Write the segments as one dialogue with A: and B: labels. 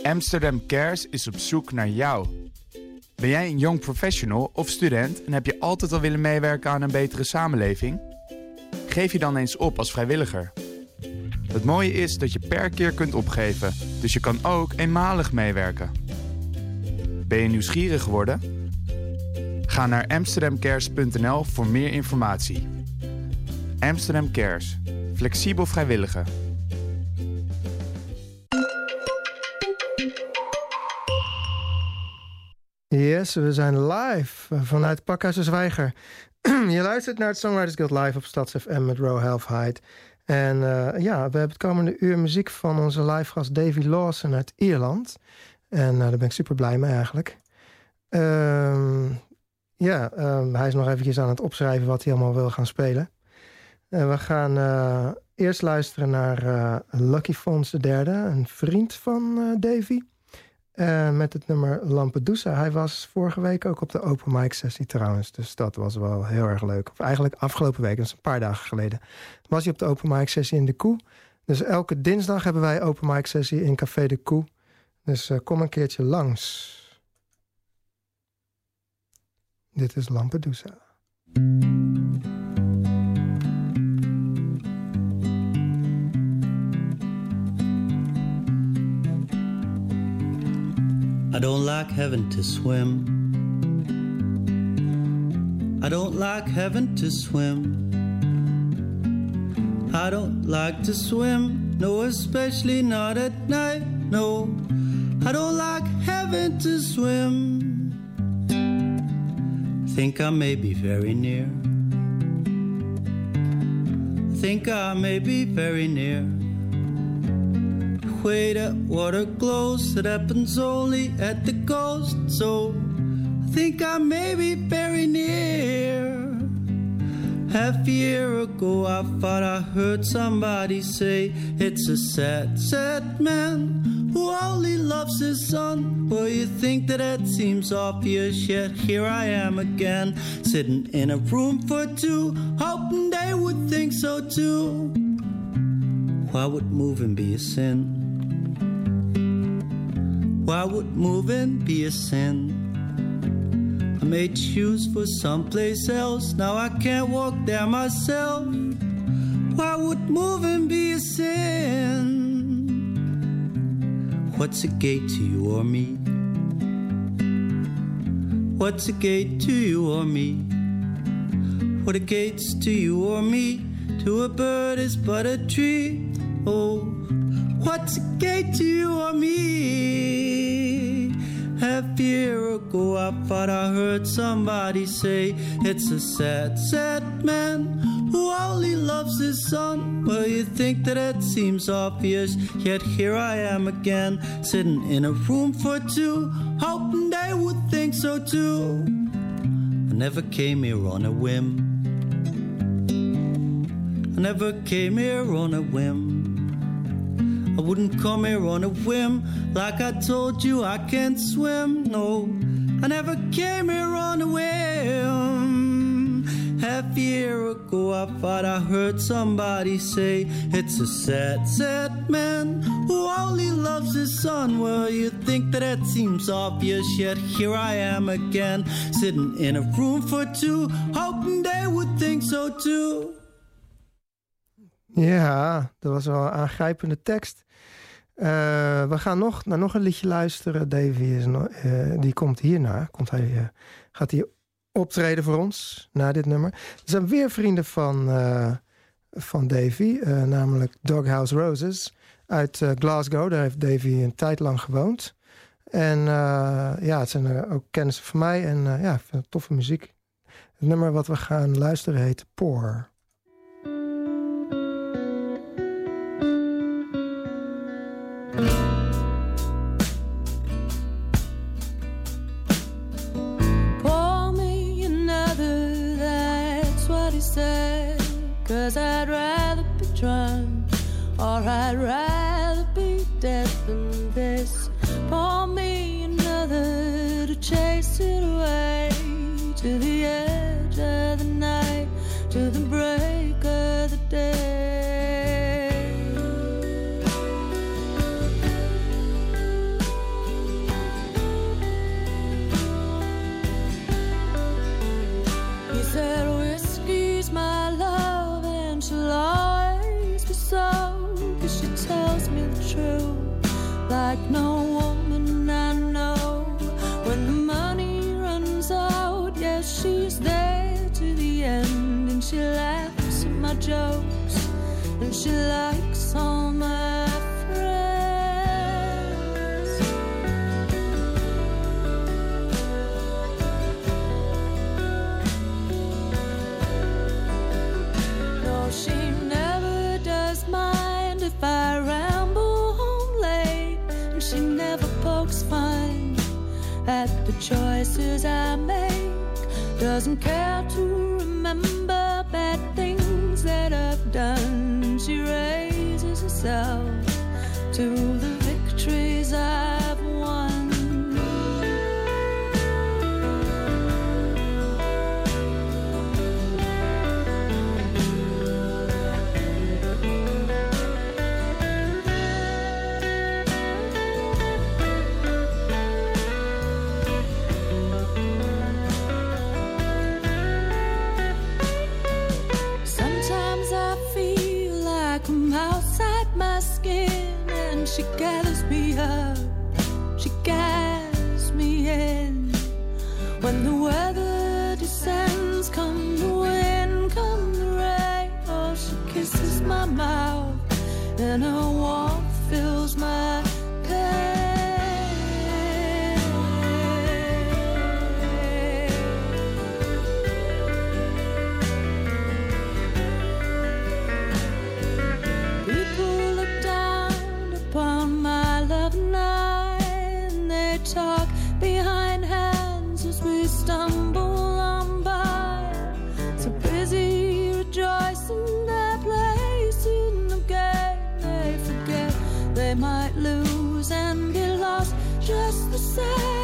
A: Amsterdam Cares is op zoek naar jou. Ben jij een young professional of student en heb je altijd al willen meewerken aan een betere samenleving? Geef je dan eens op als vrijwilliger. Het mooie is dat je per keer kunt opgeven, dus je kan ook eenmalig meewerken. Ben je nieuwsgierig geworden? Ga naar amsterdamcares.nl voor meer informatie. Amsterdam Cares. Flexibel vrijwilligen.
B: Yes, we zijn live vanuit Pakhuis de Zwijger. Je luistert naar het Songwriters Guild live op StadsFM met Row Half Height. En we hebben het komende uur muziek van onze live gast Davy Lawson uit Ierland. En daar ben ik super blij mee eigenlijk. Hij is nog eventjes aan het opschrijven wat hij allemaal wil gaan spelen. We gaan eerst luisteren naar Lucky Fons III, een vriend van Davy. Met het nummer Lampedusa. Hij was vorige week ook op de open mic sessie trouwens. Dus dat was wel heel erg leuk. Of eigenlijk afgelopen week, dat is een paar dagen geleden. Was hij op de open mic sessie in de Koe. Dus elke dinsdag hebben wij open mic sessie in Café de Koe. Dus kom een keertje langs. Dit is Lampedusa.
C: I don't like having to swim. I don't like having to swim. I don't like to swim, no, especially not at night, no. I don't like having to swim. I think I may be very near. I think I may be very near. Way that water glows, that happens only at the coast. So I think I may be very near. Half a year ago I thought I heard somebody say it's a sad, sad man who only loves his son. Well, you think that seems obvious, yet here I am again, sitting in a room for two, hoping they would think so too. Why would moving be a sin? Why would moving be a sin? I made shoes for someplace else, now I can't walk there myself. Why would moving be a sin? What's a gate to you or me? What's a gate to you or me? What a gate's to you or me? To a bird is but a tree. Oh, what's a gate to you or me? Half a year ago I thought I heard somebody say it's a sad, sad man who only loves his son. Well, you think that seems obvious, yet here I am again, sitting in a room for two, hoping they would think so too. I never came here on a whim. I never came here on a whim. I wouldn't come here on a whim. Like I told you, I can't swim. No, I never came here on a whim. Half a year ago, I thought I heard somebody say it's a sad, sad man who only loves his son. Well, you think that seems obvious, yet here I am again, sitting in a room for two, hoping they would think so too.
B: Ja, dat was wel een aangrijpende tekst. We gaan naar nog een liedje luisteren. Davy die komt hierna. Gaat hij optreden voor ons na dit nummer. Er zijn weer vrienden van Davy. Namelijk Doghouse Roses uit Glasgow. Daar heeft Davy een tijd lang gewoond. En het zijn ook kennissen van mij. En ik vind het toffe muziek. Het nummer wat we gaan luisteren heet Poor.
D: Pour me another, that's what he said. 'Cause I'd rather be drunk, or I'd rather be dead than this. Pour me another to chase it away, to the edge of the night, to the break of the day. jokes, and she likes all my friends. No, she never does mind if I ramble home late, and she never pokes fun at the choices I make. Doesn't care to remember bad things that I've done. She raises herself to the victories I've won. She gathers me up, she gathers me in. When the weather descends, come the wind, come the rain. Oh, she kisses my mouth, and her warmth fills my pain. Talk behind hands as we stumble on by. So busy rejoicing their place in the game. They forget they might lose and be lost just the same.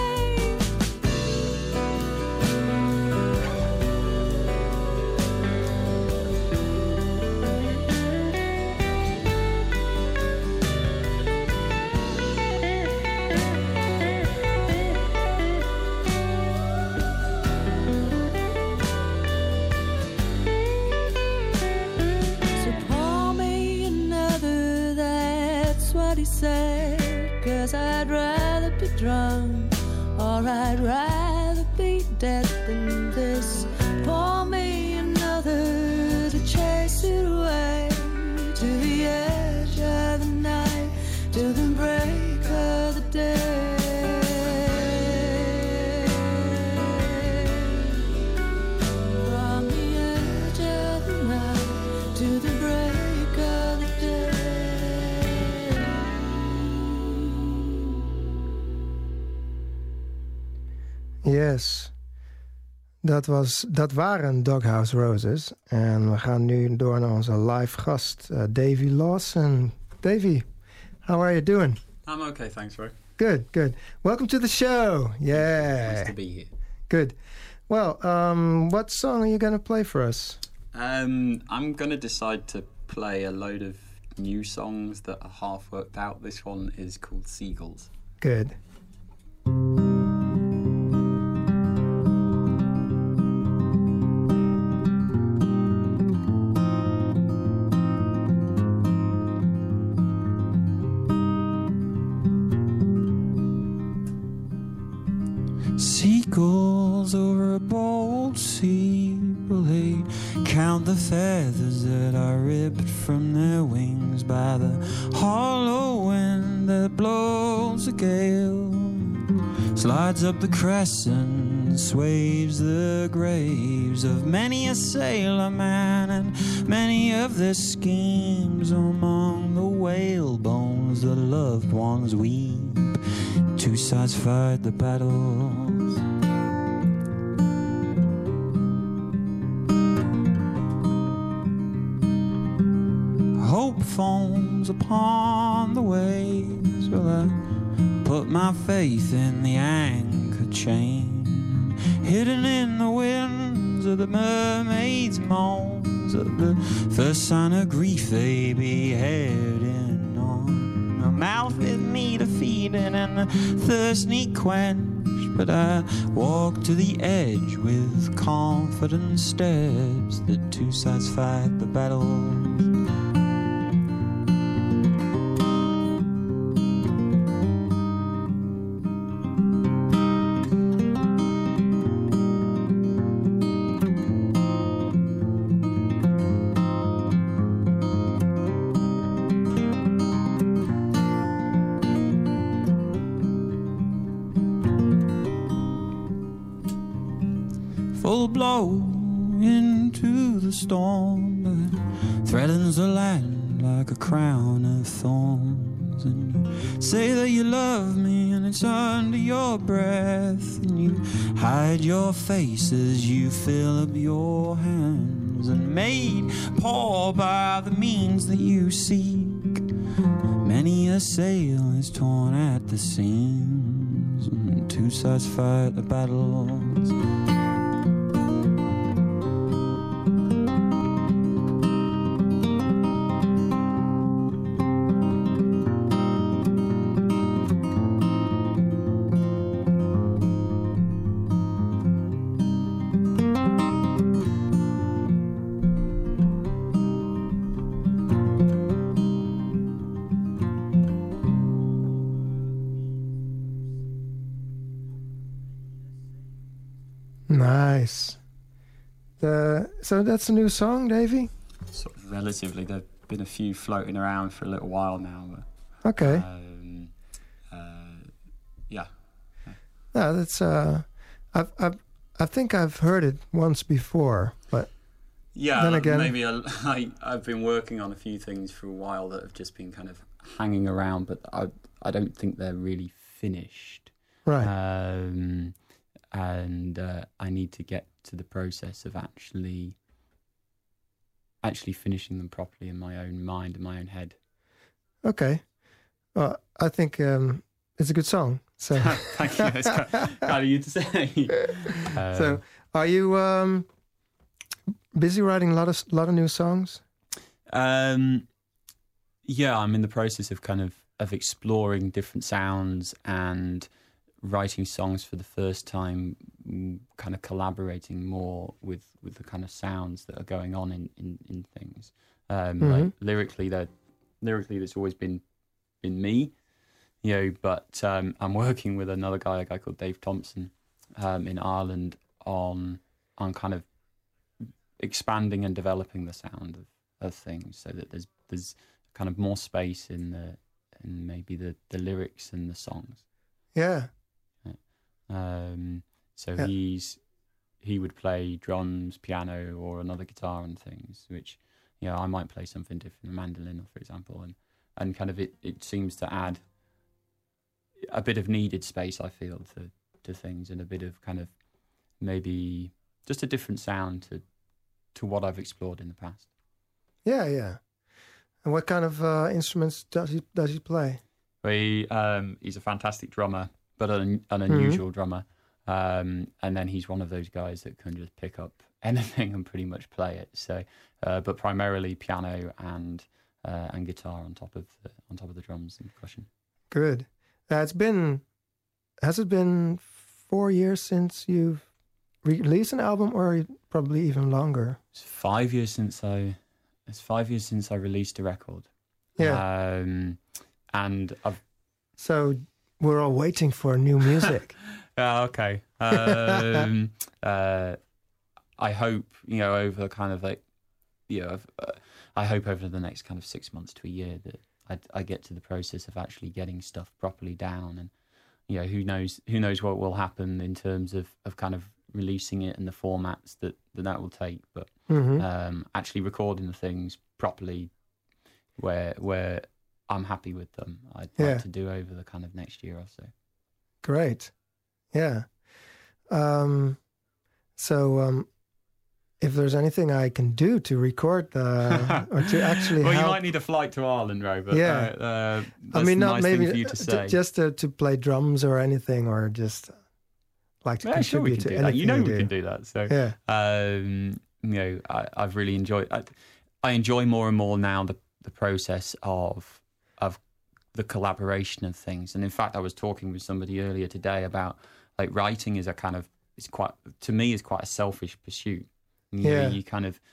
D: Cause I'd rather be drunk, or I'd rather be dead than this. Pour me another to chase it away to the edge of the night, to the break of the day. From the edge of the night to the break of the day.
B: Yes, dat waren Doghouse Roses. En we gaan nu door naar onze live gast, Davy Lawson. Davy, how are you doing?
E: I'm okay, thanks, Roy.
B: Good, good. Welcome to the show. Yeah.
E: Nice to be here.
B: Good. Well, what song are you going to play for us?
E: I'm going to decide to play a load of new songs that are half worked out. This one is called Seagulls.
B: Good.
C: Seagulls over a bold sea will they count the feathers that are ripped from their wings by the hollow wind that blows a gale, slides up the crescent, sways the graves of many a sailor man and many of their schemes. Among the whale bones the loved ones weep, two sides fight the battles. Hope foams upon the waves. Will I put my faith in the anchor chain, hidden in the winds of the mermaid's moans, of the first sign of grief they be heading on. A mouth with me to feed it and the thirst need quench, but I walk to the edge with confident steps that two sides fight the battle. flow into the storm that threatens the land like a crown of thorns. And you say that you love me, and it's under your breath, and you hide your face as you fill up your hands, and made poor by the means that you seek. Many a sail is torn at the seams, and two sides fight the battles.
B: Nice. So that's a new song, Davey?
E: Sort of relatively. There have been a few floating around for a little while now. But,
B: Okay.
E: Yeah.
B: Yeah, that's I think I've heard it once before, but
E: Yeah,
B: then again,
E: maybe I've been working on a few things for a while that have just been kind of hanging around, but I don't think they're really finished.
B: right.
E: And I need to get to the process of actually finishing them properly in my own mind and my own head.
B: Okay. Well, I think it's a good song. So
E: Thank you. It's kind of you to say.
B: So, are you busy writing a lot of new songs?
E: Yeah, I'm in the process of kind of exploring different sounds and writing songs for the first time, kind of collaborating more with the kind of sounds that are going on in things. Like lyrically, that's always been me, you know. But I'm working with a guy called Dave Thompson in Ireland on kind of expanding and developing the sound of things, so that there's kind of more space in maybe the lyrics and the songs.
B: Yeah.
E: So
B: Yeah.
E: he would play drums, piano, or another guitar and things, which, you know, I might play something different, a mandolin, for example, and kind of it seems to add a bit of needed space, I feel, to things, and a bit of kind of maybe just a different sound to what I've explored in the past.
B: Yeah, yeah. And what kind of instruments does he play?
E: He's a fantastic drummer, but an unusual drummer. And then he's one of those guys that can just pick up anything and pretty much play it. So, but primarily piano and guitar on top of the drums and percussion.
B: Good. Has it been 4 years since you've released an album, or probably even longer?
E: It's 5 years since I released a record.
B: Yeah.
E: And I've.
B: So we're all waiting for new music.
E: Okay. I hope, you know, over kind of like, you know, I hope over the next kind of 6 months to a year that I get to the process of actually getting stuff properly down, and, you know, who knows what will happen in terms of kind of releasing it and the formats that will take, but actually recording the things properly where I'm happy with them, I'd like to do over the kind of next year or so.
B: Great. Yeah. So if there's anything I can do to record or to actually
E: well,
B: help...
E: you might need a flight to Ireland, Robert.
B: Yeah.
E: That's
B: not
E: a nice
B: maybe
E: thing for you to say.
B: just to play drums or anything, or just like to contribute to anything.
E: You know, we
B: do.
E: can do that. So,
B: yeah.
E: You know, I've really enjoyed. I enjoy more and more now the process of the collaboration of things. And in fact, I was talking with somebody earlier today about, like, writing is quite a selfish pursuit. You know, you kind of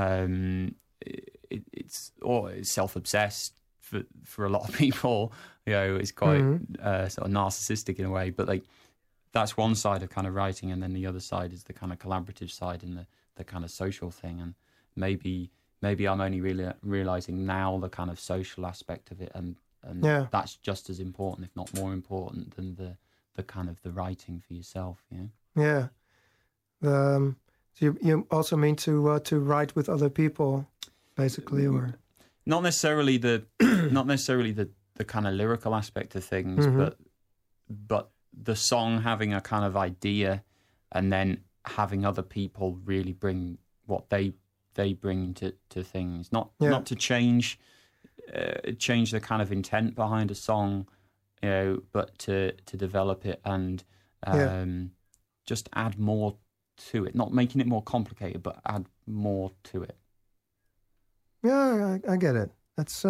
E: it's self-obsessed for a lot of people. You know, it's quite sort of narcissistic in a way. But, like, that's one side of kind of writing, and then the other side is the kind of collaborative side and the kind of social thing. And maybe I'm only really realizing now the kind of social aspect of it, and that's just as important, if not more important, than the kind of the writing for yourself. You know?
B: Yeah. So you also mean to write with other people, basically, or
E: not necessarily the kind of lyrical aspect of things, but the song having a kind of idea, and then having other people really bring what they bring to things, not to change the kind of intent behind a song, but to develop it and just add more to it, not making it more complicated, but add more to it.
B: Yeah, I get it. That's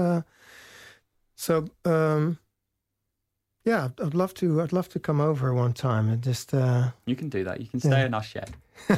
B: I'd love to come over one time and just.
E: You can do that. You can stay in our shed.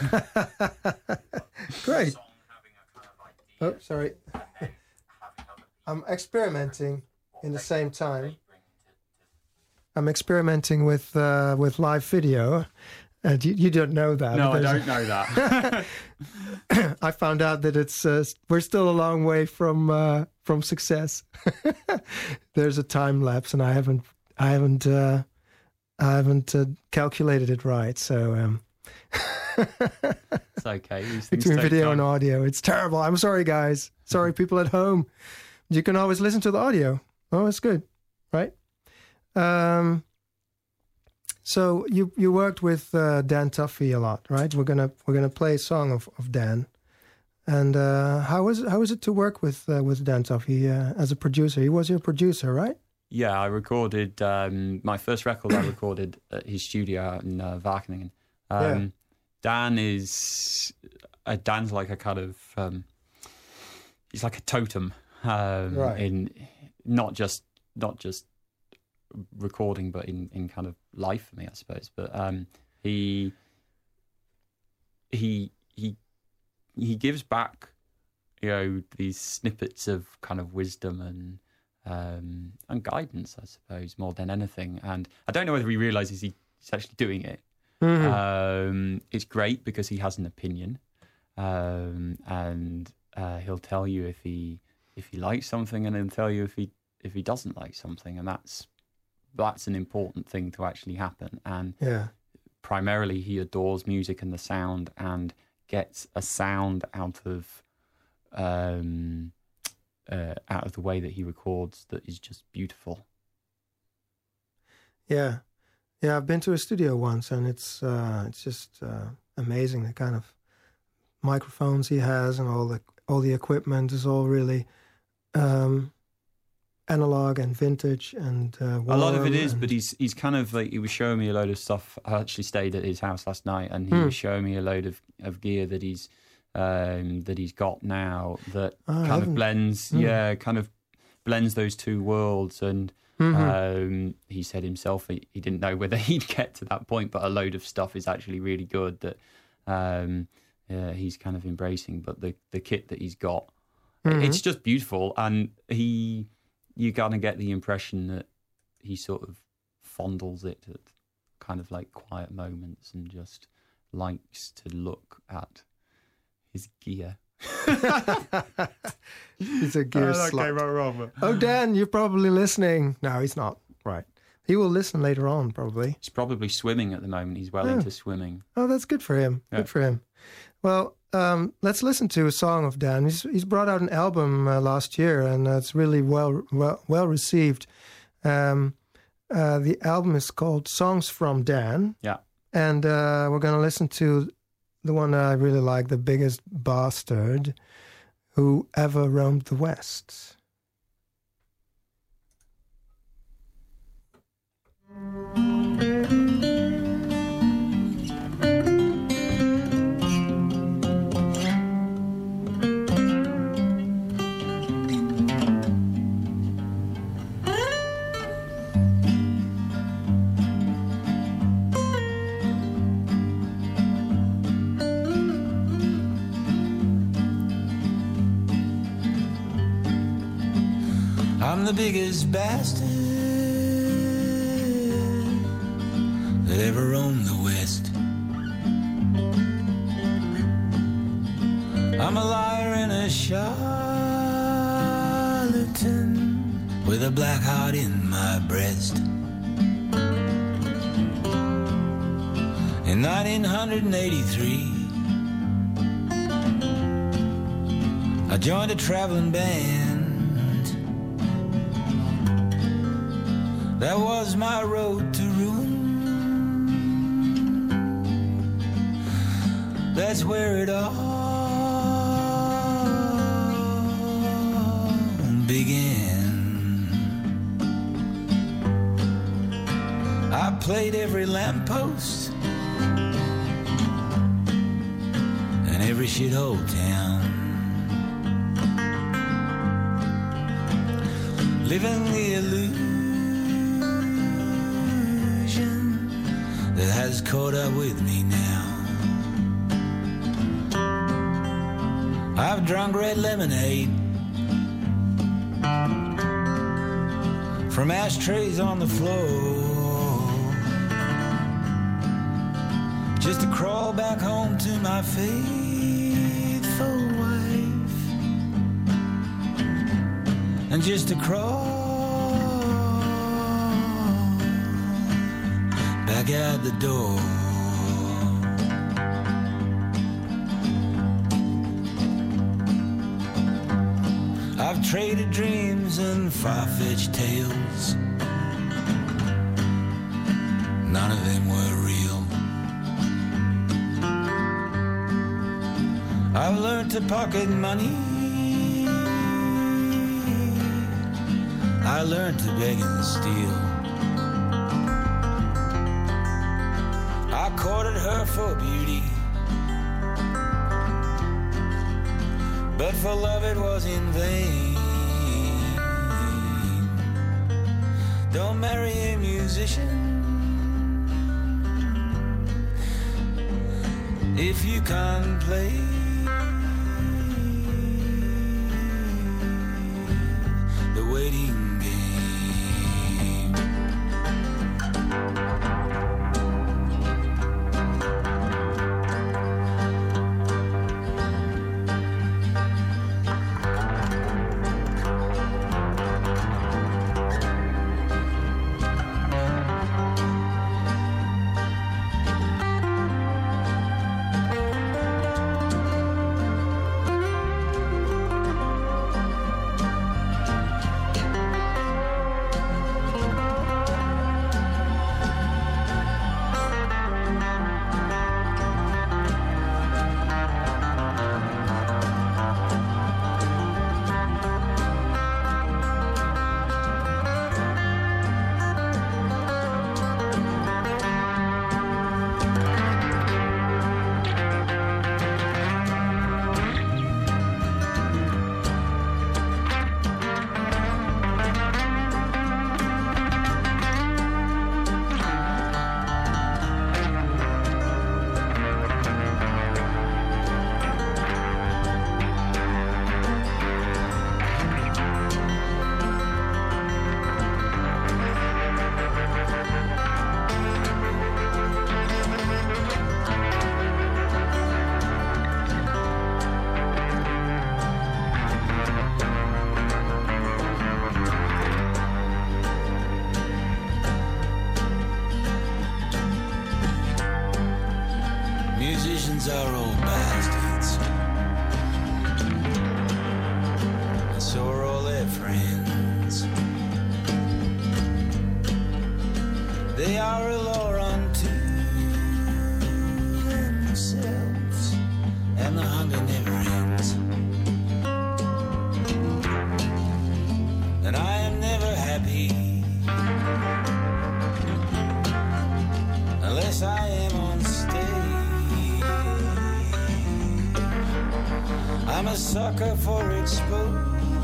B: Great. Oh, sorry. I'm experimenting in the same time. I'm experimenting with live video. You don't know that.
E: No, I don't know that.
B: I found out that it's we're still a long way from success. There's a time lapse, and I haven't calculated it right. So
E: it's okay.
B: Between video and audio, it's terrible. I'm sorry, guys. Sorry, people at home. You can always listen to the audio. Oh, it's good, right? So you worked with Dan Tuffy a lot, right? We're gonna play a song of Dan. And how was it to work with Dan Tuffy as a producer? He was your producer, right?
E: Yeah, I recorded my first record. I recorded at his studio out in Wageningen. Dan's like a kind of he's like a totem in not just recording, but in kind of life for me, I suppose. But he gives back, these snippets of kind of wisdom and guidance, I suppose, more than anything. And I don't know whether he realizes he's actually doing it. Mm-hmm. It's great because he has an opinion, and he'll tell you if he likes something, and he'll tell you if he doesn't like something, and that's an important thing to actually happen. And primarily, he adores music and the sound, and gets a sound out of the way that he records that is just beautiful.
B: Yeah, I've been to a studio once, and it's just amazing, the kind of microphones he has, and all the equipment is all really analog and vintage and warm.
E: A lot of it is, but he's kind of like, he was showing me a load of stuff. I actually stayed at his house last night, and he was showing me a load of gear that he's got now that kind of blends those two worlds. And he said himself he didn't know whether he'd get to that point, but a load of stuff is actually really good that he's kind of embracing. But the kit that he's got, it's just beautiful, and you kind of get the impression that he sort of fondles it at kind of like quiet moments and just likes to look at his gear.
B: He's a gear slut.
E: That came out wrong.
B: Oh, Dan, you're probably listening. No, he's not. Right. He will listen later on, probably.
E: He's probably swimming at the moment. He's well into swimming.
B: Oh, that's good for him. Yeah. Good for him. Well, let's listen to a song of Dan. He's brought out an album last year, and it's really well received. The album is called Songs from Dan.
E: Yeah.
B: And we're going to listen to the one that I really like, The Biggest Bastard Who Ever Roamed the West.
C: I'm the biggest bastard that ever roamed the West. I'm a liar and a charlatan with a black heart in my breast. In 1983,
F: joined a traveling band. That was my road to ruin. That's where it all began. I played every lamppost and every shithole town, living the illusion that has caught up with me now. I've drunk red lemonade from ashtrays on the floor, just to crawl back home to my faithful wife, and just to crawl back out the door. I've traded dreams and far-fetched tales. None of them were real. I've learned to pocket money. I learned to beg and steal. I courted her for beauty, but for love it was in vain. Don't marry a musician if you can't play the waiting game. Musicians are old bastards, and so are all their friends. They are a law unto themselves, and the hunger never ends. And I am never happy unless I am on stage. I'm a sucker for exposure,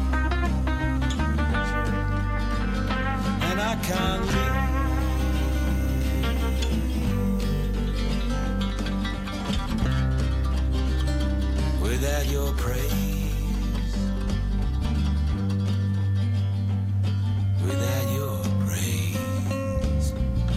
F: and I can't live without your praise, without your praise.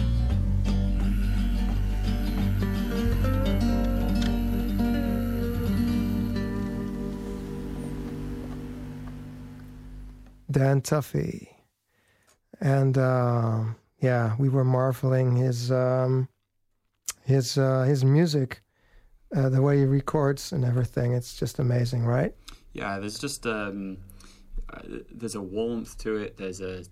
B: Dan Tuffy. And yeah, we were marveling his music, the way he records and everything. It's just amazing, right?
E: Yeah, there's just there's a warmth to it. There's a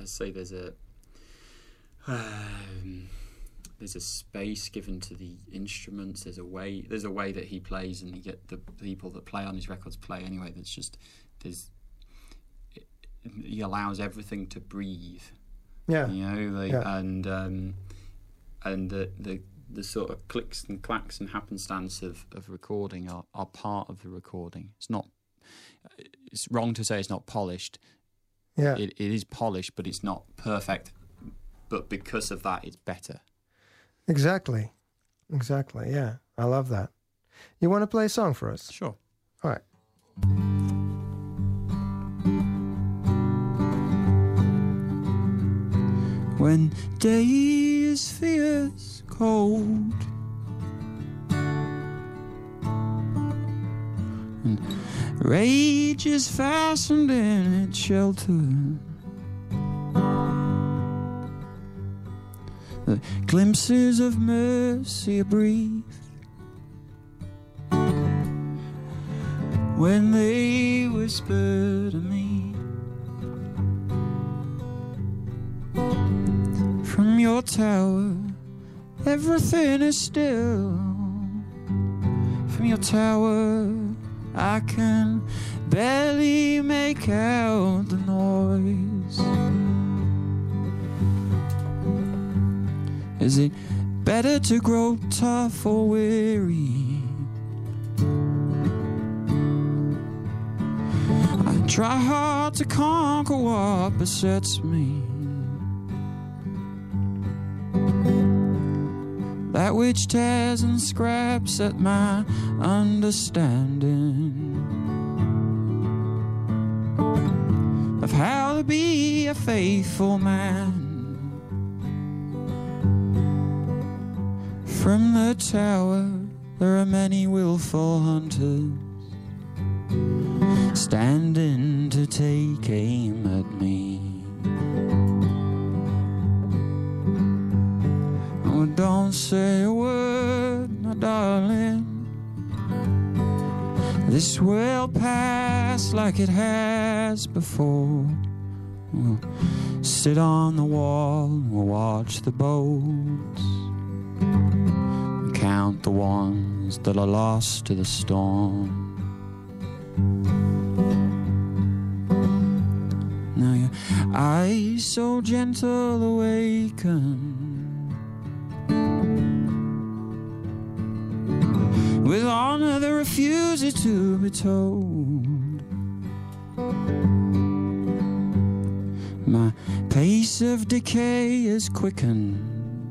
E: space given to the instruments. There's a way that he plays, and you get the people that play on his records play anyway. He allows everything to breathe.
B: Yeah,
E: and the sort of clicks and clacks and happenstance of recording are part of the recording. It's wrong to say it's not polished.
B: Yeah,
E: it is polished, but it's not perfect. But because of that, it's better.
B: Exactly. Yeah, I love that. You want to play a song for us?
E: Sure.
B: All right.
C: When day is fierce cold and rage is fastened in its shelter, the glimpses of mercy are brief when they whisper to me, from your tower everything is still. From your tower I can barely make out the noise. Is it better to grow tough or weary? I try hard to conquer what besets me, that which tears and scraps at my understanding of how to be a faithful man. From the tower there are many willful hunters standing to take aim at me. Oh, don't say a word, my darling. This will pass like it has before. We'll sit on the wall, we'll watch the boats, count the ones that are lost to the storm. Now your eyes so gentle awaken with honor that refuses to be told. My pace of decay is quickened,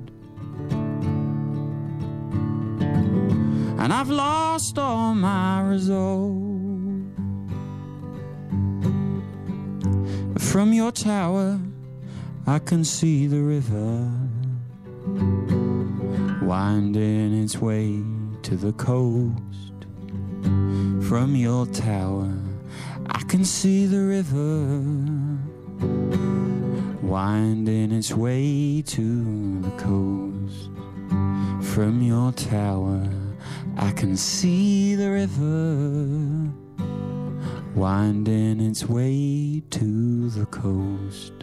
C: and I've lost all my resolve. From your tower I can see the river winding its way to the coast. From your tower I can see the river winding its way to the coast. From your tower I can see the river winding its way to the coast.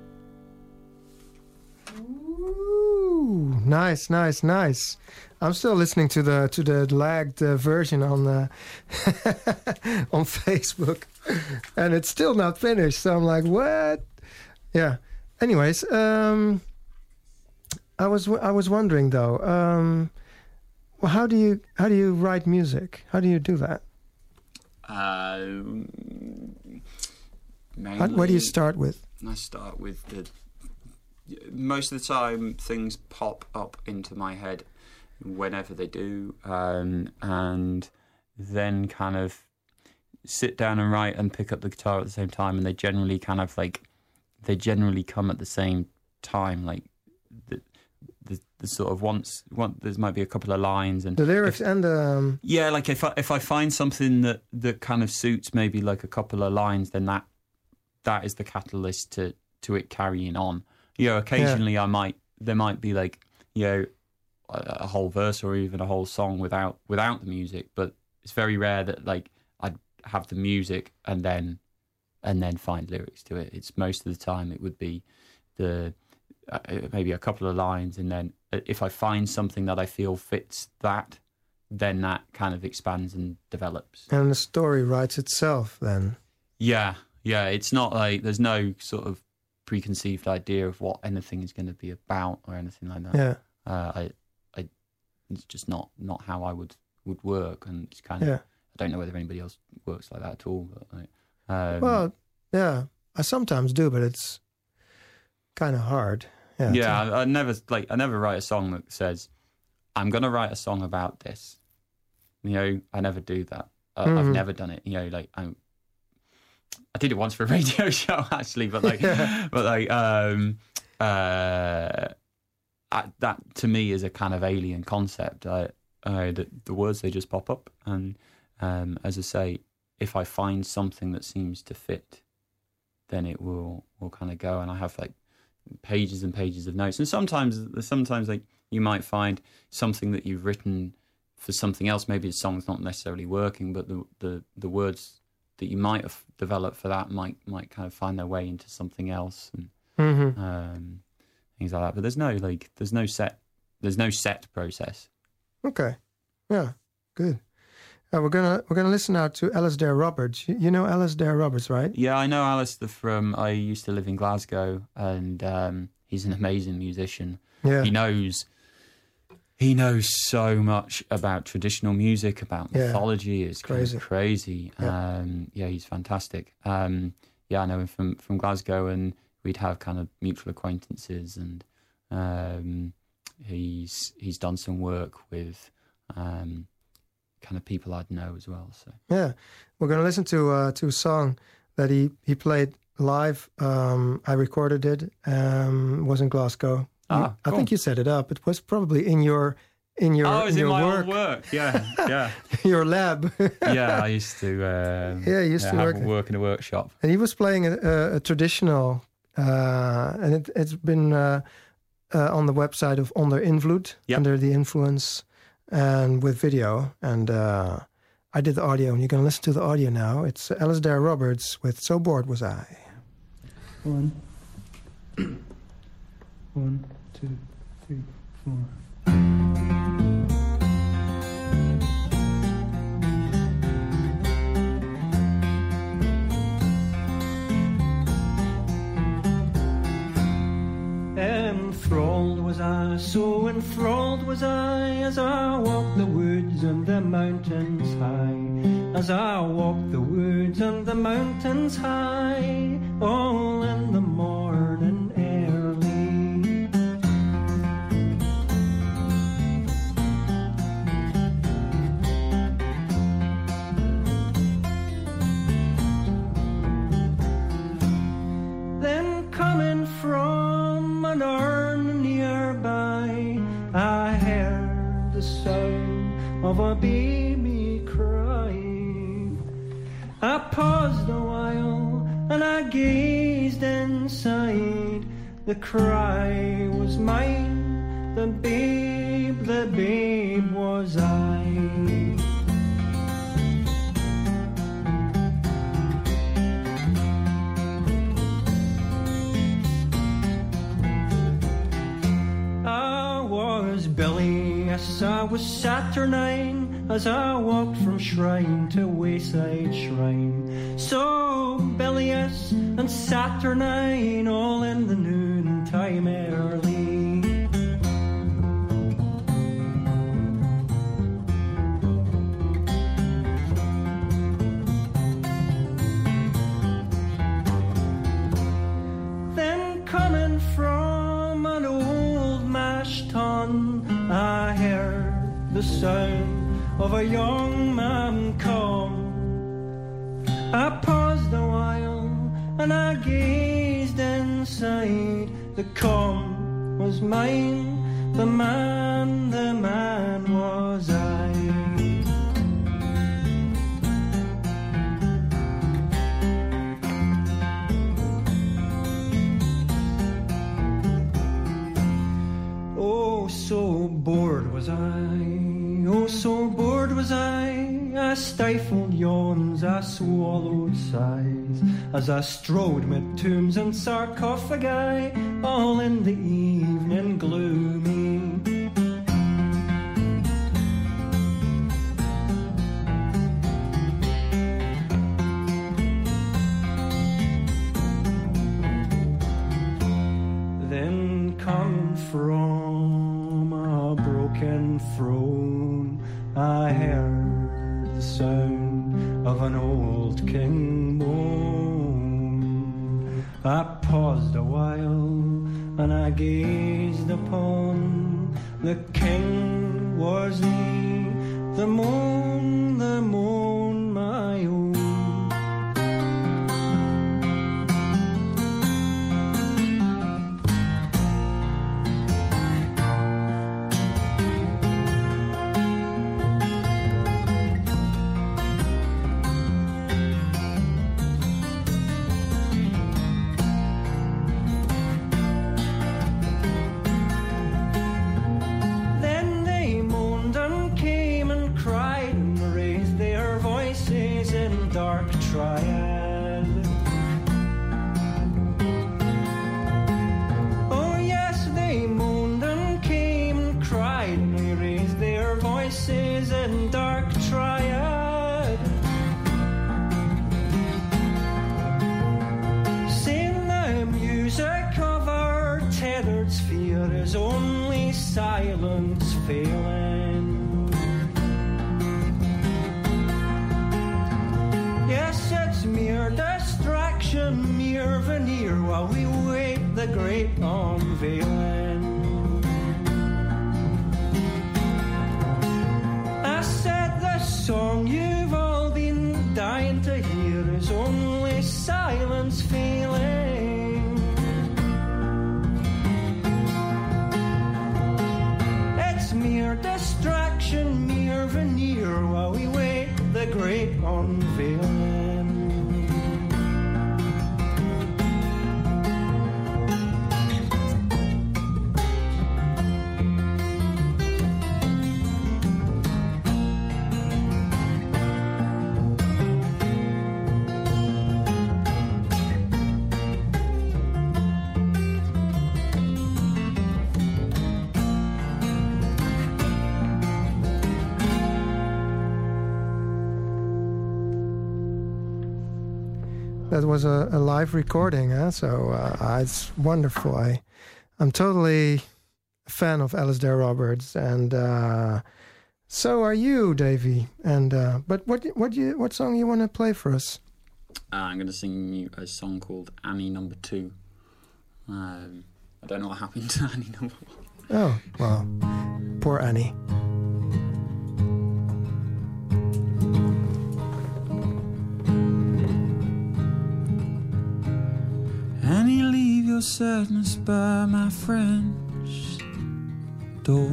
B: Ooh, nice. I'm still listening to the lagged version on on Facebook, and it's still not finished. So I'm like, what? Yeah. Anyways, I was wondering though. Well, how do you write music? How do you do that? What do you start with?
E: I start with most of the time things pop up into my head whenever they do, and then kind of sit down and write and pick up the guitar at the same time, and they generally come at the same time, like the sort of once there might be a couple of lines and
B: the lyrics and
E: yeah, like if I find something that kind of suits maybe like a couple of lines, then that is the catalyst to it carrying on. You know, occasionally there might be like, you know, a whole verse or even a whole song without the music, but it's very rare that like I'd have the music and then find lyrics to it. It's most of the time it would be maybe a couple of lines, and then if I find something that I feel fits that, then that kind of expands and develops.
B: And the story writes itself then.
E: Yeah. It's not like there's no sort of preconceived idea of what anything is going to be about or anything like that.
B: Yeah.
E: It's just not how I would work, and it's kind of I don't know whether anybody else works like that at all. But
B: well, yeah, I sometimes do, but it's kind of hard. Yeah,
E: I never write a song that says I'm going to write a song about this. I never do that. I've never done it. I did it once for a radio show actually, but that to me is a kind of alien concept. The words, they just pop up, and as I say, if I find something that seems to fit, then it will kind of go. And I have like pages and pages of notes, and sometimes like you might find something that you've written for something else. Maybe the song's not necessarily working, but the words that you might have developed for that might kind of find their way into something else, and things like that. But there's no set process.
B: Okay, yeah, good. We're gonna listen now to Alasdair Roberts. You know Alasdair Roberts, right?
E: Yeah, I know Alasdair I used to live in Glasgow, and he's an amazing musician.
B: Yeah,
E: he knows so much about traditional music, about mythology. It's crazy.
B: Yeah.
E: He's fantastic. I know him from Glasgow, and we'd have kind of mutual acquaintances, and he's done some work with kind of people I'd know as well. So
B: yeah, we're going to listen to a song that he played live. I recorded it. It was in Glasgow.
E: Cool.
B: I think you set it up. It was probably in your
E: it was in my
B: work.
E: own work. Yeah.
B: Your lab.
E: Yeah, I used to. Work in a workshop.
B: And he was playing a traditional, and it's been on the website of Onder Invloed, Under the Influence, and with video. And I did the audio, and you're going to listen to the audio now. It's Alasdair Roberts with "So Bored Was I."
C: 1, 1, 2, 3, 4. Enthralled was I, so enthralled was I, as I walked the woods and the mountains high, as I walked the woods and the mountains high, all in the morning early. Then coming from an urn nearby, I heard the sound of a baby crying. I paused a while and I gazed inside. The cry was mine, the babe was I. Bilious, I was saturnine, as I walked from shrine to wayside shrine. So bilious and saturnine, all in the noontime early. Then coming from an old mash tun, I heard the sound of a young man come. I paused a while and I gazed inside. The come was mine, the man was I. So bored was I, oh so bored was I
G: I stifled yawns, I swallowed sighs, as I strode mid tombs and sarcophagi, all in the evening gloomy. Then come from a broken throne, I heard the sound of an old king moan. I paused a while and I gazed upon the king. Was he the moon, my own? Dark triad. Oh yes, they moaned and came and cried, and they raised their voices in dark triad, saying the music of our tethered sphere is only silence failing. Yes, it's mere distraction, mere veneer, while we wait the great unveiling. I said the song you've all been dying to hear is only silence failing. It's mere distraction, mere veneer, while we wait the great unveiling.
B: That was a live recording, huh? So it's wonderful. I'm totally a fan of Alasdair Roberts, and so are you, Davy. And but what song you want to play for us?
E: I'm going to sing you a song called Annie No. 2. I don't know what happened to Annie No. 1.
B: Oh, well, poor Annie.
F: Annie, leave your sadness by my friend's door.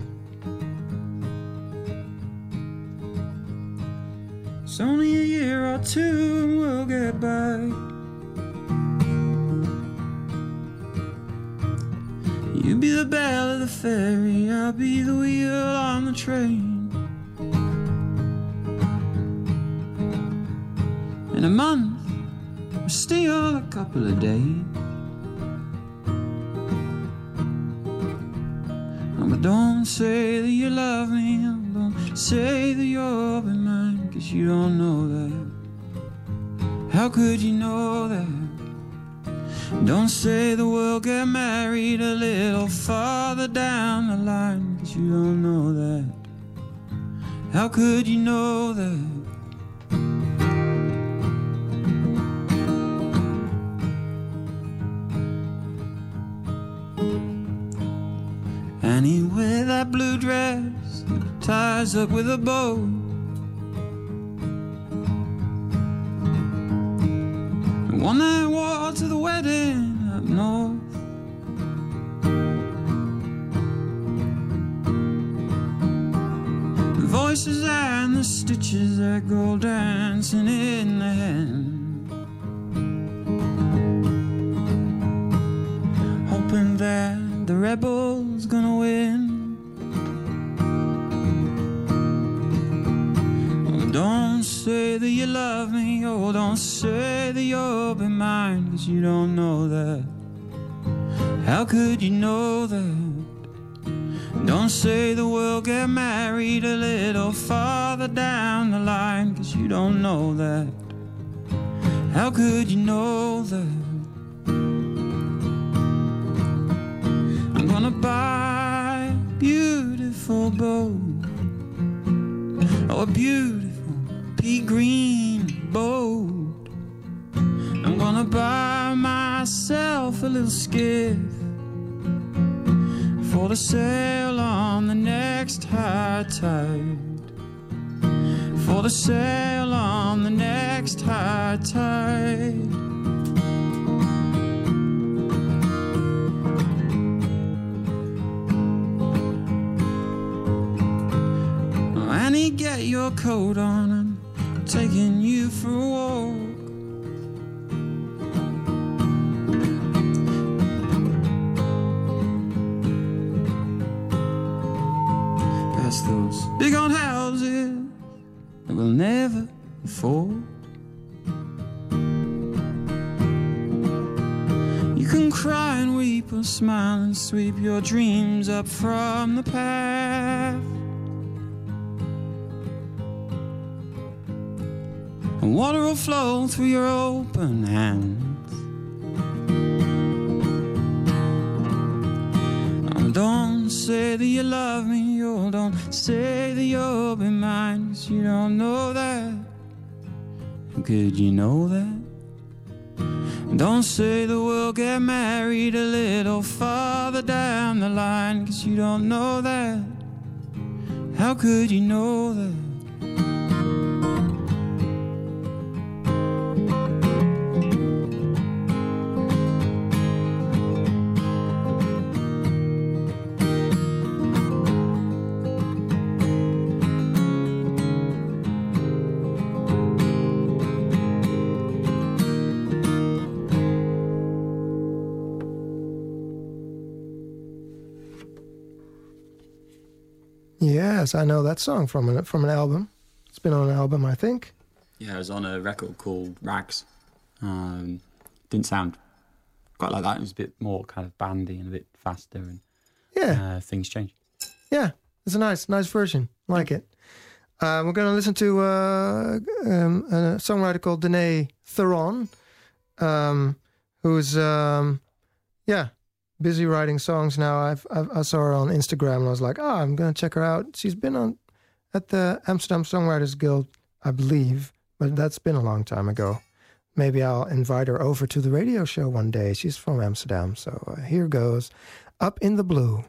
F: It's only a year or two and we'll get by. You be the bell of the ferry, I'll be the wheel on the train. In a month, still a couple of days. But don't say that you love me, don't say that you'll be mine, 'cause you don't know that. How could you know that? Don't say that we'll get married a little farther down the line, 'cause you don't know that. How could you know that? Annie with that blue dress, ties up with a bow. The one that wore to the wedding up north. The voices and the stitches that go dancing in the hand, hoping that the rebel's gonna win. love me. Oh, don't say that you'll be mine, 'cause you don't know that. How could you know that? Don't say that we'll get married a little farther down the line, 'cause you don't know that. How could you know that? I'm gonna buy a beautiful boat, oh, a beautiful pea green boat. I'm gonna buy myself a little skiff for the sail on the next high tide. For the sail on the next high tide. Annie, get your coat on, I'm taking you for a walk. Past those big old houses that we'll never afford. You can cry and weep or smile and sweep your dreams up from the path. And water will flow through your open hands. Oh, don't say that you love me, oh, don't say that you'll be mine, 'cause you don't know that. Could you know that? Don't say that we'll get married a little farther down the line, 'cause you don't know that. How could you know that?
B: Yes, I know that song from an album. It's been on an album, I think.
E: Yeah, it was on a record called Rags. Didn't sound quite like that. It was a bit more kind of bandy and a bit faster, and things changed.
B: Yeah, it's a nice version. Like it. We're going to listen to a songwriter called Danae Theron, who's busy writing songs now. I saw her on Instagram and I was like, I'm going to check her out. She's been at the Amsterdam Songwriters Guild, I believe, but that's been a long time ago. Maybe I'll invite her over to the radio show one day. She's from Amsterdam, so here goes Up in the Blue.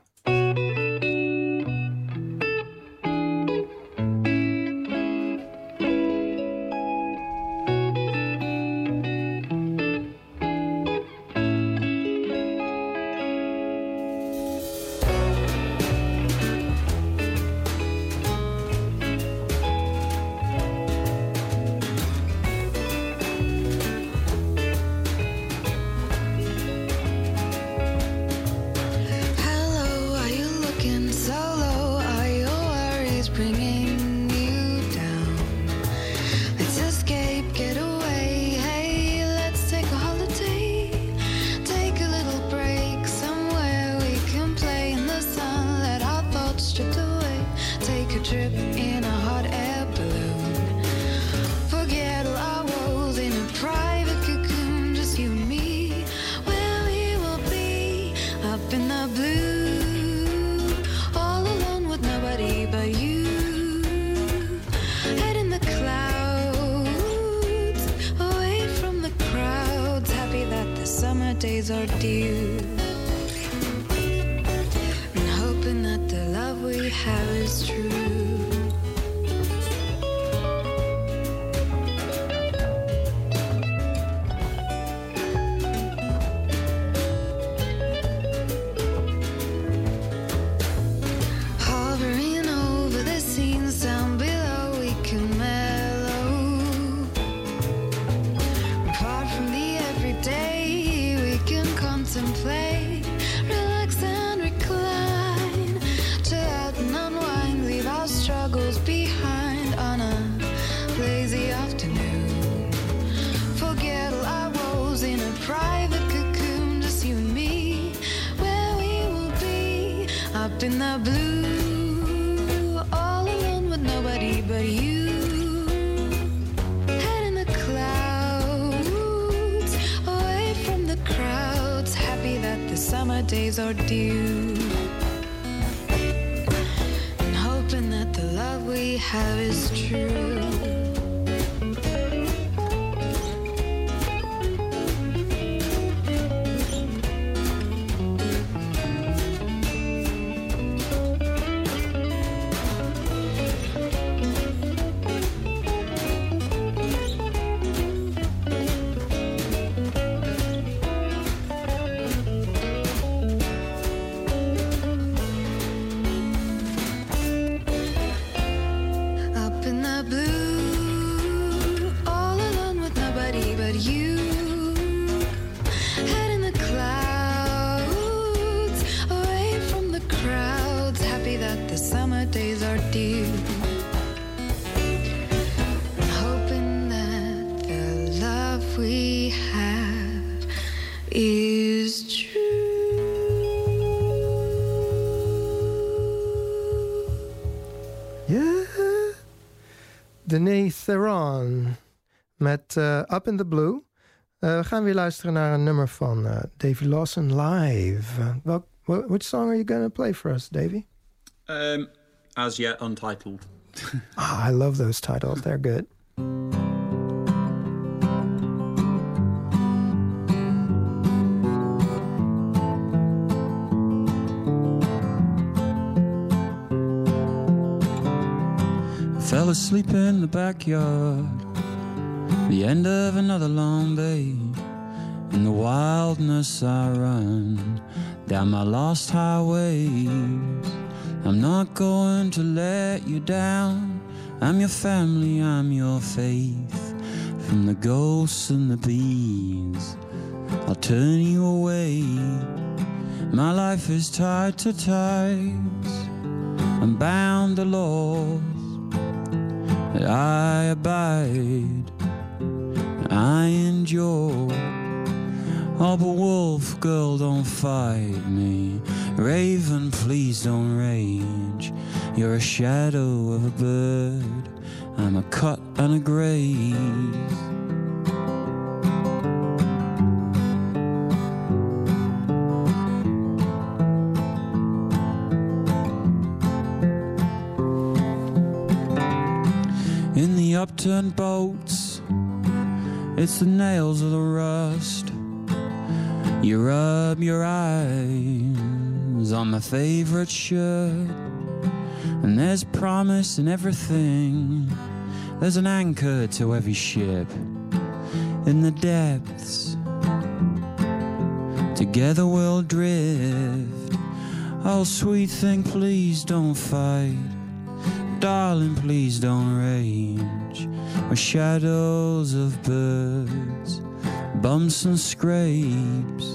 D: days are due, and hoping that the love we have is true. Behind on a lazy afternoon.
H: Up in the blue, all alone with nobody but you. Head in the clouds, away from the crowds, happy that the summer days are due. And hoping that the love we have is true.
B: Denise Theron met Up in the Blue. We gaan weer luisteren naar een nummer van Davy Lawson live. Which song are you going to play for us, Davy?
E: As Yet Untitled.
B: I love those titles. They're good.
F: Fell asleep in the backyard, the end of another long day. In the wildness I run down my lost highways. I'm not going to let you down. I'm your family, I'm your faith. From the ghosts and the bees, I'll turn you away. My life is tied to ties, I'm bound to laws that I abide, I endure. Oh, but wolf, girl, don't fight me. Raven, please don't rage. You're a shadow of a bird, I'm a cut and a graze. In the upturned boats, it's the nails of the rust. You rub your eyes on my favorite shirt, and there's promise in everything. There's an anchor to every ship in the depths. Together we'll drift. Oh, sweet thing, please don't fight. Darling, please don't rage. We're shadows of birds, bumps and scrapes.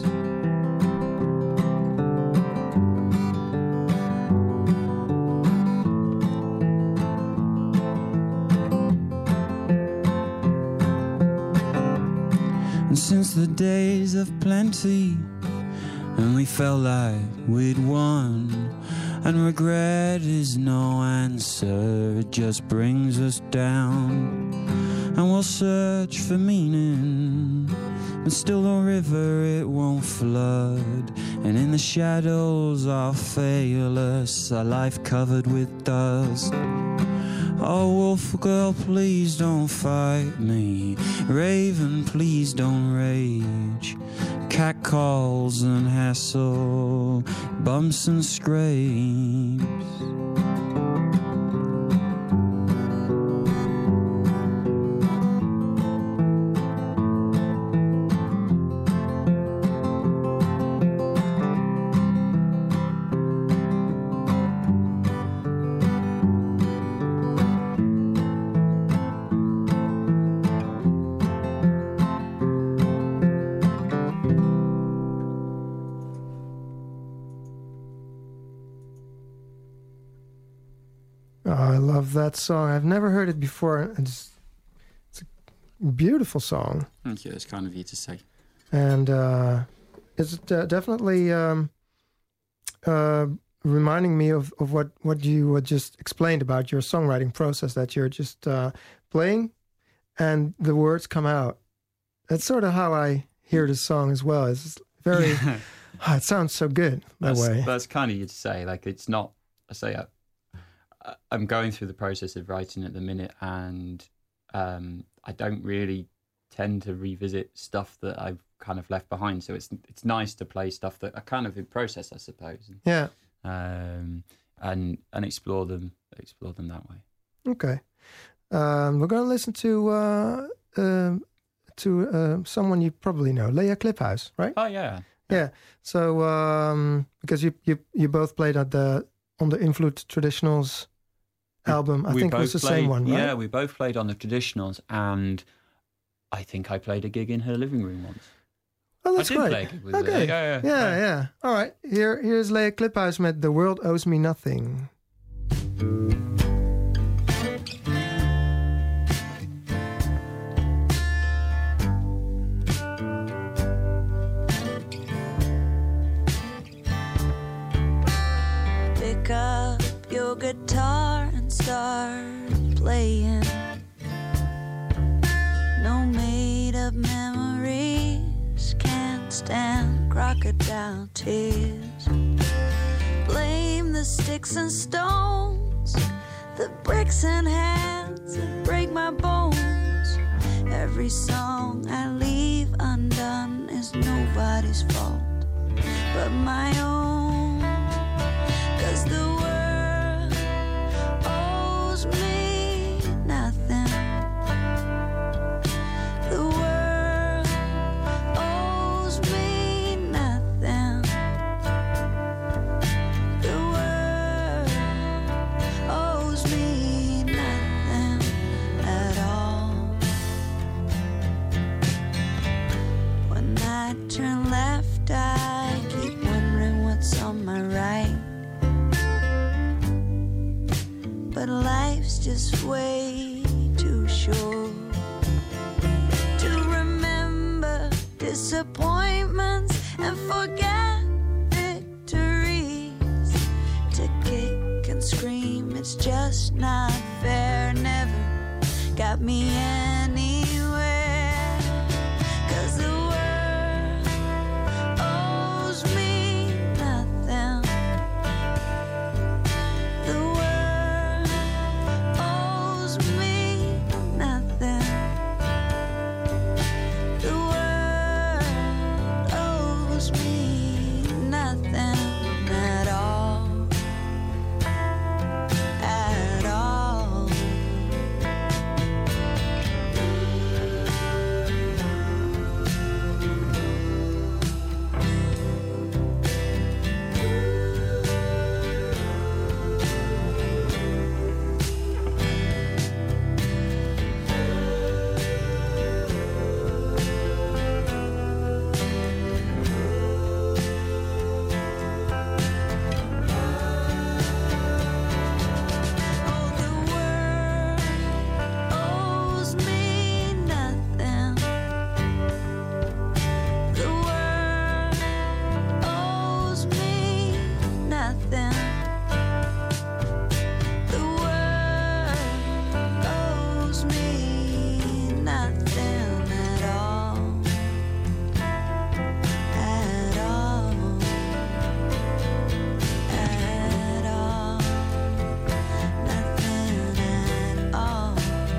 F: And since the days of plenty, and we felt like we'd won, and regret is no answer, it just brings us down. And we'll search for meaning, but still the river, it won't flood. And in the shadows I'll fail us, our life covered with dust. Oh, wolf girl, please don't fight me. Raven, please don't rage. Cat calls and hassle, bumps and scrapes.
B: That song, I've never heard it before. It's a beautiful song.
E: Thank you, it's kind of you to say.
B: And it's definitely reminding me of what you just explained about your songwriting process, that you're just playing and the words come out. That's sort of how I hear the song as well. It's very... it sounds so good that way.
E: That's kind of you to say. Like, it's not... I say I'm going through the process of writing at the minute, and I don't really tend to revisit stuff that I've kind of left behind. So it's nice to play stuff that are kind of in process, I suppose.
B: Yeah.
E: And explore them that way.
B: Okay. We're going to listen to someone you probably know, Lea Kliphuis, right?
E: Oh yeah.
B: Yeah. So because you both played on the Invloed Traditionals album, I think it was the same one, right?
E: Yeah, we both played on the Traditionals, and I think I played a gig in her living room once.
B: Oh, that's
E: I did
B: great.
E: play a gig with
B: Okay.
E: her.
B: Yeah. All right. Here's Lea Kliphuis met The World Owes Me Nothing.
D: Pick up your guitar and start playing. No made-up memories can't stand crocodile tears. Blame the sticks and stones, the bricks and hands that break my bones. Every song I leave undone is nobody's fault but my own. 'Cause the world owes me nothing. The world owes me nothing. The world owes me nothing at all. When I turn left, I keep wondering what's on my right. But life's just way too short to remember disappointments and forget victories. To kick and scream, it's just not fair. Never got me anywhere. 'Cause the world owes me nothing. The world owes me nothing. The world owes me nothing at all. At all. Oh, the world owes me nothing. The world owes me nothing. The world owes me nothing at all. At all. At all. Nothing at all.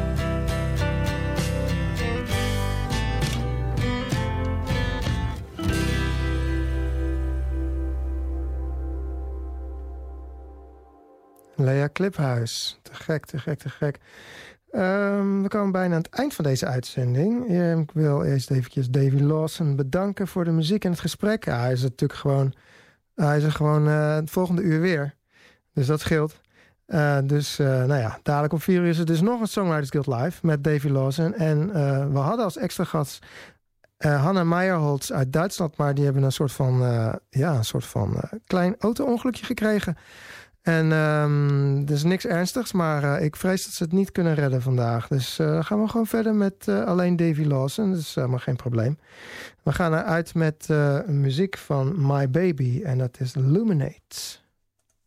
B: Lea Kliphuis. Te gek, te gek, te gek. We komen bijna aan het eind van deze uitzending. Ik wil eerst eventjes Davy Lawson bedanken voor de muziek en het gesprek. Ja, hij is natuurlijk gewoon... Hij is er gewoon het volgende uur weer. Dus dat scheelt. Dadelijk om 4 uur is er dus nog een Songwriters Guild Live met Davy Lawson. En we hadden als extra gast Hanna Meyerholz uit Duitsland, maar die hebben een soort van klein auto-ongelukje gekregen. En dus niks ernstigs, maar ik vrees dat ze het niet kunnen redden vandaag. Dus gaan we gewoon verder met alleen Davy Lawson. Dat is helemaal geen probleem. We gaan eruit met muziek van My Baby en dat is Illuminate.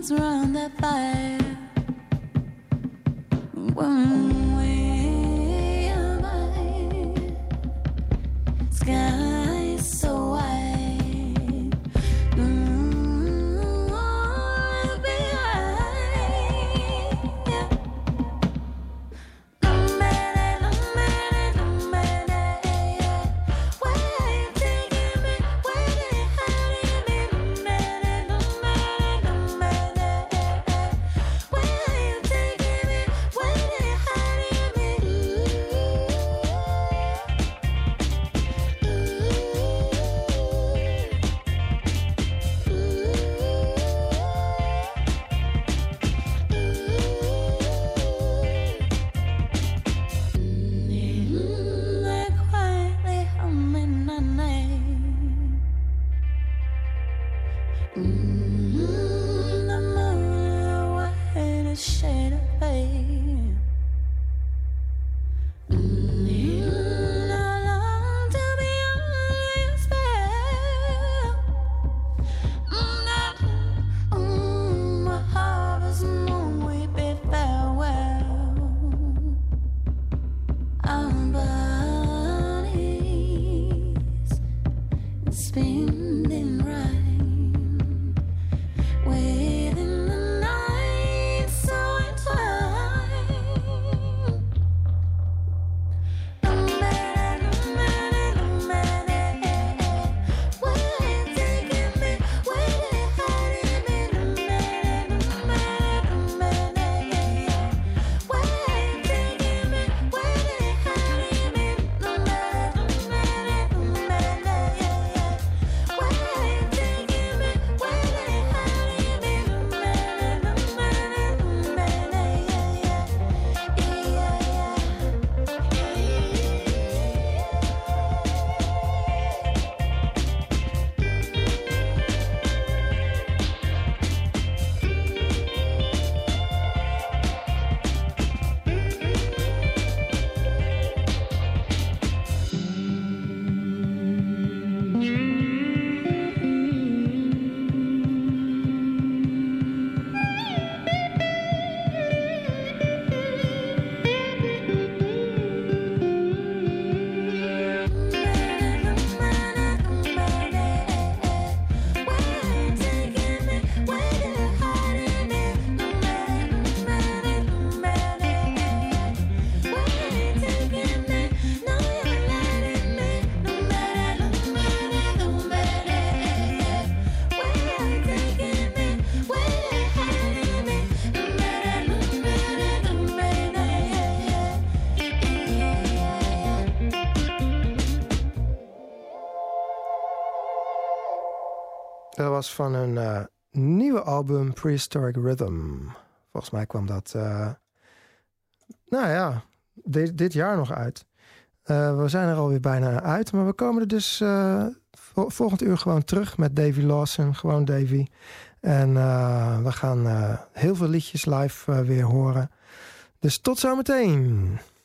D: arms around that fire. One way am I. Sky is so wide. Spinning rhyme within the night, so entwined. Where you taking me? Where you hiding me? Where you taking me? Where you hiding
B: Dat was van hun nieuwe album Prehistoric Rhythm. Volgens mij kwam dat dit jaar nog uit. We zijn er alweer bijna uit, maar we komen er dus volgend uur gewoon terug met Davy Lawson, gewoon Davy. En we gaan heel veel liedjes live weer horen. Dus tot zometeen.